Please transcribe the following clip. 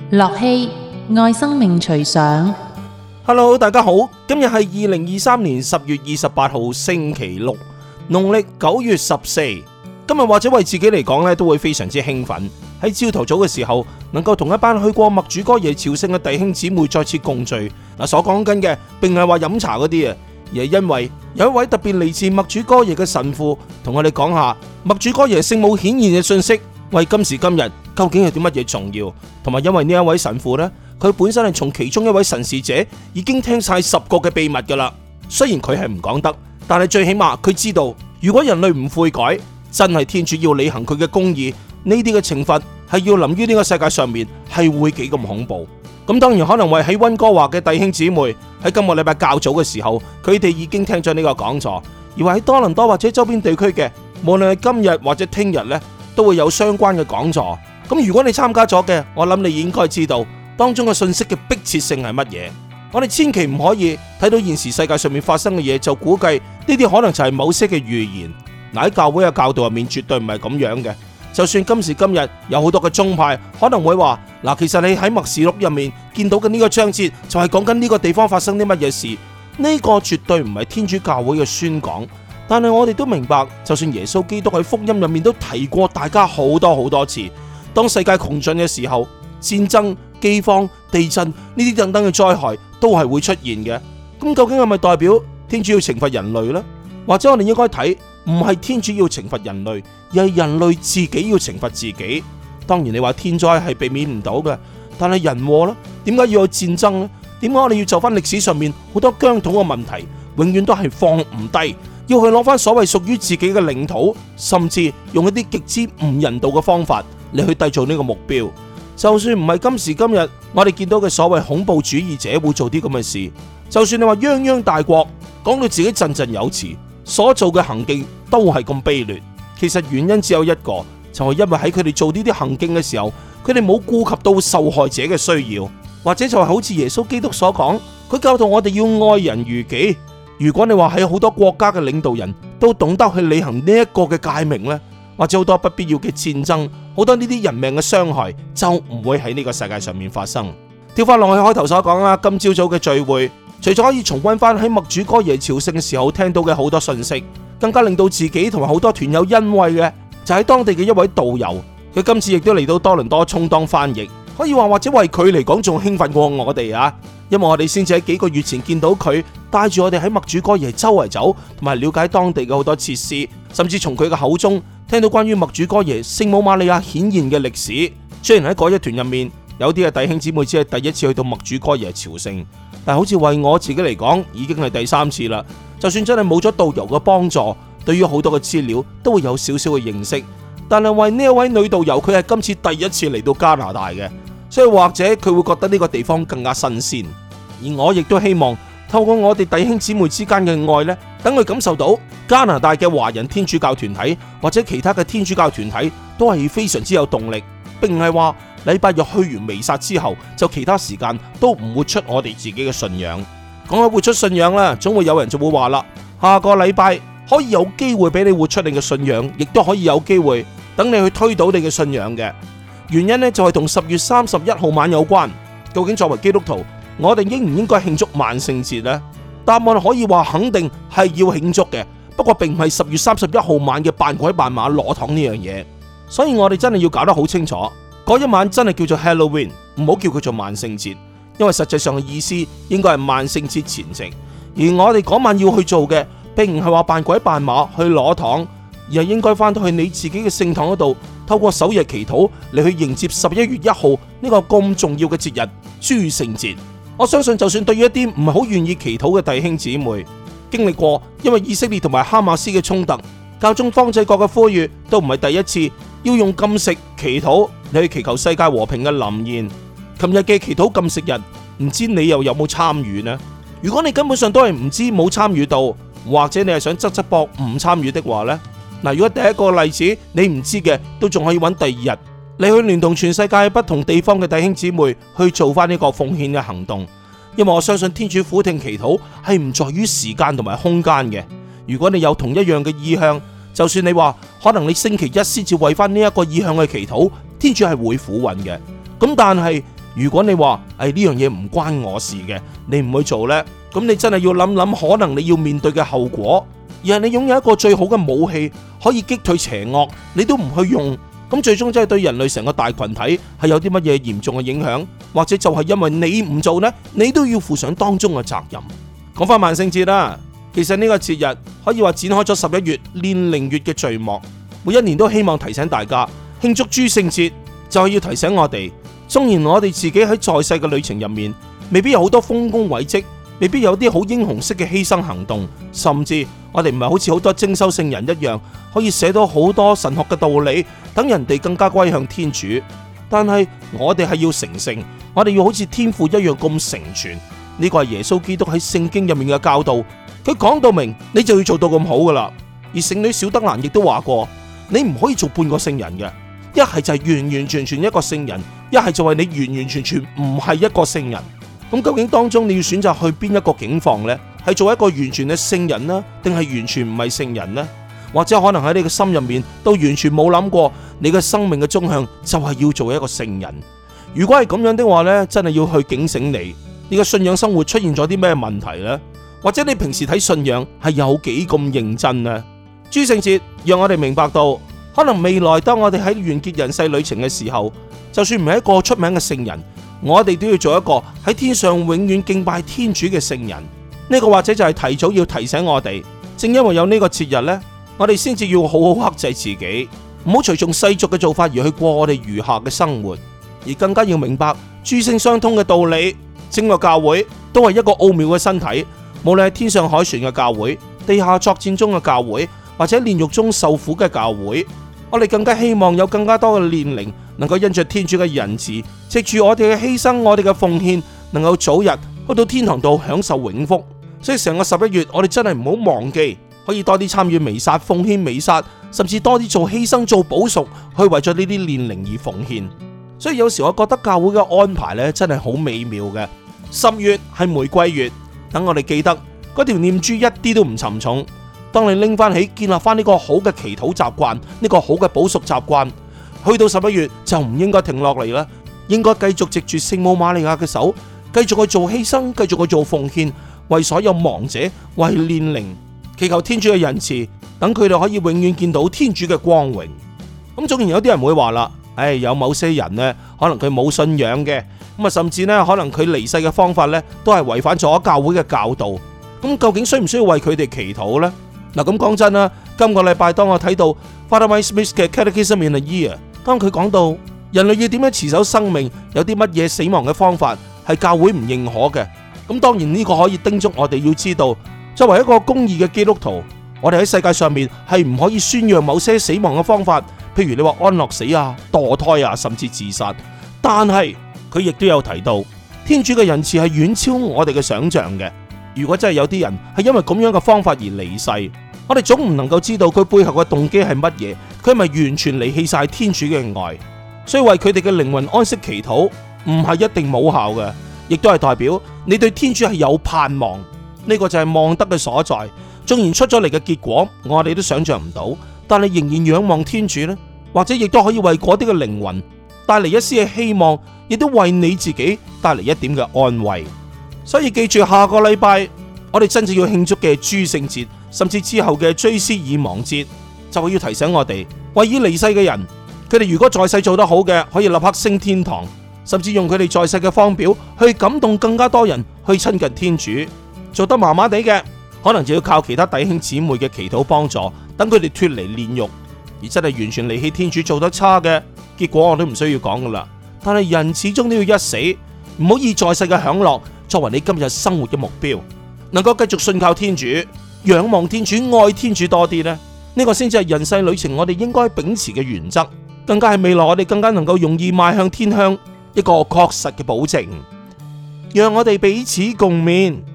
樂熙愛生命隨想。 Hello， 大家好，今日係2023年10月28號星期六，農曆9月14。今日或者為自己嚟講咧，都會非常之興奮。喺朝頭早嘅時候，能夠同一班去過默主哥耶朝聖嘅弟兄姊妹再次共聚。所講緊嘅並唔係話飲茶嗰啲啊，而係因為有一位特別嚟自默主哥耶嘅神父，同我哋講下默主哥耶聖母顯現嘅信息，為今時今日究竟係啲乜嘢重要？同埋因為呢一位神父呢，佢本身係從其中一位神視者已經聽晒10個嘅秘密噶啦。雖然佢係唔講得，但係最起碼佢知道，如果人類唔悔改，真係天主要履行佢嘅公義，呢啲嘅懲罰係要臨於呢個世界上面，係會幾咁恐怖。咁當然可能為喺溫哥華嘅弟兄姊妹喺今個禮拜較早嘅時候，佢哋已經聽咗呢個講座，而話喺多倫多或者周邊地區嘅，無論係今日或者聽日呢，都會有相關嘅講座。咁如果你參加咗嘅，我諗你應該知道當中嘅信息嘅迫切性係乜嘢。我哋千祈唔可以睇到現時世界上面發生嘅嘢就估計呢啲可能就係某些嘅預言。喺教會嘅教導入面絕對唔係咁樣嘅。就算今時今日有好多嘅宗派可能會話，其實你喺默示錄入面見到嘅呢個章節就係講緊呢個地方發生啲乜嘢事，呢個絕對唔係天主教會嘅宣講。但係我哋都明白，就算耶穌基督喺福音入面都提過大家好多次，當世界窮盡嘅時候，戰爭、饑荒、地震呢啲等等嘅災害都係會出現嘅。咁究竟係咪代表天主要懲罰人類呢？或者我哋應該睇，唔係天主要懲罰人類，而係人類自己要懲罰自己。當然你話天災係避免唔到嘅，但係人禍呢？點解要有戰爭呢？點解我哋要就翻歷史上面好多疆土嘅問題，永遠都係放唔低，要去攞翻所謂屬於自己嘅領土，甚至用一啲極之唔人道嘅方法嚟去締造呢個目標。就算唔係今時今日我哋見到嘅所謂恐怖主義者會做啲咁嘅事，就算你話泱泱大國講到自己振振有詞，所做嘅行徑都係咁卑劣。其實原因只有一個，就係因為喺佢哋做呢啲行徑嘅時候，佢哋冇顧及到受害者嘅需要，或者就係好似耶穌基督所講，佢教導我哋要愛人如己。如果你話喺好多國家嘅領導人都懂得去履行呢一個嘅誡命呢，或者好多不必要嘅戰爭，好多呢啲人命嘅傷害就唔會喺呢個世界上面發生。跳翻落去開頭所講啦，今朝早嘅聚會，除咗可以重溫翻喺默主哥耶朝聖嘅時候聽到嘅好多信息，更加令到自己同埋好多團友欣慰嘅，就喺當地嘅一位導遊，佢今次亦都嚟到多倫多充當翻譯，可以話或者為佢嚟講仲興奮過我哋啊！因為我哋先至喺幾個月前見到佢帶住我哋喺默主哥耶周圍走，同埋了解當地嘅好多設施，甚至從佢嘅口中聽到關於默主哥耶聖母瑪利亞顯現嘅歷史。雖然喺嗰一團入面有啲嘅弟兄姊妹只係第一次去到默主哥耶朝聖，但好似為我自己嚟講已經係第3次啦。就算真係冇咗導遊嘅幫助，對於好多嘅資料都會有少少嘅認識。但係為呢一位女導遊，佢係今次第一次嚟到加拿大嘅，所以或者佢會覺得呢個地方更加新鮮。而我亦都希望透過我哋弟兄姊妹之間嘅愛呢，等佢感受到加拿大嘅華人天主教團體或者其他嘅天主教團體都係非常之有動力，並唔係話禮拜日去完彌撒之後就其他時間都唔活出我哋自己嘅信仰。講起活出信仰啦，總會有人就會話啦，下個禮拜可以有機會俾你活出你嘅信仰，亦都可以有機會等你去推倒你嘅信仰嘅原因呢，就係同10月31號晚有關。究竟作為基督徒，我哋應唔應該慶祝萬聖節呢？答案可以話肯定係要慶祝嘅，不過並唔係10月31號晚嘅扮鬼扮馬裸堂呢樣嘢。所以我哋真係要搞得好清楚，嗰一晚真係叫做 Halloween， 唔好叫佢做萬聖節，因為實際上嘅意思應該係萬聖節前夕。而我哋嗰晚要去做嘅，並唔係話扮鬼扮馬去裸堂，而係應該翻到去你自己嘅聖堂嗰度，透過守夜祈禱嚟去迎接11月1號呢個咁重要嘅節日諸聖節。我相信就算對於一啲唔係好願意祈禱嘅弟兄姊妹，經歷過因為以色列同埋哈馬斯嘅衝突，教宗方濟各嘅呼籲都唔係第一次要用禁食祈禱嚟去祈求世界和平嘅臨現。琴日嘅祈禱禁食日，唔知你又有冇參與呢？如果你根本上都係唔知冇參與到，或者你係想側側膊唔參與的話呢，如果第一個例子你唔知嘅，都仲可以揾第2日，你去聯同全世界不同地方嘅弟兄姊妹去做翻呢個奉獻嘅行動。因為我相信天主俯聽祈禱係唔在於時間同埋空間嘅。如果你有同一樣嘅意向，就算你話可能你星期一先至為翻呢一個意向去祈禱，天主係會俯允嘅。咁但係如果你話呢樣嘢唔關我事嘅，你唔去做呢，咁你真係要諗諗，可能你要面對嘅後果。而係你擁有一個最好嘅武器，可以擊退邪惡，你都唔去用，咁最終真係對人類成個大群體係有啲乜嘢嚴重嘅影響，或者就係因為你唔做呢，你都要負上當中嘅責任。講翻萬聖節啦，其實呢個節日可以話展開咗11月煉靈月嘅序幕，每一年都希望提醒大家慶祝諸聖節，就係要提醒我哋，縱然我哋自己喺在世嘅旅程入面，未必有好多豐功偉績，未必有啲好英雄式嘅犧牲行動，甚至我哋唔係好似好多精修聖人一樣，可以寫到好多神學嘅道理，等人哋更加歸向天主。但係我哋係要成聖，我哋要好似天父一樣咁成全。呢個係耶穌基督喺聖經入面嘅教導，佢講到明，你就要做到咁好噶啦。而聖女小德蘭亦都話過，你唔可以做半個聖人嘅，一係就係完完全全一個聖人，一係就係你完完全全唔係一個聖人。咁究竟當中你要選擇去邊一個境況呢？係做一個完全嘅聖人呢，定係完全唔係聖人呢？或者可能喺你嘅心入面都完全冇諗過，你嘅生命嘅終向就係要做一個聖人。如果係咁樣的話呢，真係要去警醒你嘅信仰生活出現咗啲咩問題呢？或者你平時睇信仰係有幾咁認真呢？諸聖節讓我哋明白到，可能未來當我哋喺完結人世旅程嘅時候，就算唔係一個出名嘅聖人，我哋都要做一個喺天上永遠敬拜天主嘅聖人。呢個或者就係提早要提醒我哋，正因為有呢個節日呢，我哋先至要好好克制自己，唔好隨從世俗嘅做法而去過我哋餘下嘅生活，而更加要明白諸聖相通嘅道理。整個教會都係一個奧妙嘅身體，無論係天上凱旋嘅教會、地下作戰中嘅教會，或者煉獄中受苦嘅教會，我哋更加希望有更加多嘅煉靈能夠因着天主嘅仁慈，藉住我哋嘅犧牲、我哋嘅奉獻，能夠早日去到天堂度享受永福。所以成個11月，我哋真係唔好忘記，可以多啲參與彌撒、奉獻彌撒，甚至多啲做犧牲、做補贖，去為咗呢啲煉靈而奉獻。所以有時我覺得教會嘅安排咧，真係好美妙嘅。10月係玫瑰月，等我哋記得嗰條念珠一啲都唔沉重。當你拎翻起，建立翻呢個好嘅祈禱習慣，呢個好嘅補贖習慣，去到11月就唔應該停落嚟啦，應該繼續藉住聖母瑪利亞嘅手，繼續去做犧牲，繼續去做奉獻，為所有亡者，為煉靈，祈求天主嘅仁慈，等佢哋可以永遠見到天主嘅光榮。咁縱然有啲人會話啦，有某些人呢，可能佢冇信仰嘅，咁啊，甚至呢，可能佢離世嘅方法呢，都係違反咗教會嘅教導。咁究竟需唔需要為佢哋祈禱呢？嗱，咁講真啦，今個禮拜當我睇到 Father Mike Smith 嘅 Catechism in a Year， 當佢講到人類要點樣持守生命，有啲乜嘢死亡嘅方法係教會唔認可嘅。咁當然呢個可以叮囑我哋要知道，作為一個公義嘅基督徒，我哋喺世界上面係唔可以宣揚某些死亡嘅方法，譬如你話安樂死啊、墮胎啊，甚至自殺。但係佢亦都有提到，天主嘅仁慈係遠超我哋嘅想象嘅。如果真係有啲人係因為咁樣嘅方法而離世，我哋總唔能夠知道佢背後嘅動機係乜嘢，佢係咪完全離棄晒天主嘅愛？所以為佢哋嘅靈魂安息祈禱唔係一定冇效嘅，亦都係代表你對天主係有盼望。呢個就係望德嘅所在。縱然出咗嚟嘅結果我哋都想象唔到，但係仍然仰望天主呢，或者亦都可以為嗰啲嘅靈魂帶嚟一絲嘅希望，亦都為你自己帶嚟一點嘅安慰。所以記住，下個禮拜我哋真正要慶祝嘅諸聖節，甚至之後嘅追思已亡節，就會要提醒我哋，為已離世嘅人，佢哋如果在世做得好嘅，可以立刻升天堂，甚至用佢哋在世嘅方表去感動更加多人去親近天主。做得麻麻地嘅，可能就要靠其他弟兄姊妹嘅祈禱幫助，等佢哋脫離煉獄。而真係完全離棄天主做得差嘅，結果我都唔需要講噶啦。但係人始終都要一死，唔好以在世嘅享樂作為你今日生活嘅目標，能夠繼續信靠天主、仰望天主、愛天主多啲呢，呢個先至係人世旅程我哋應該秉持嘅原則，更加係未來我哋更加能夠容易邁向天鄉一個確實嘅保證。讓我哋彼此共勉。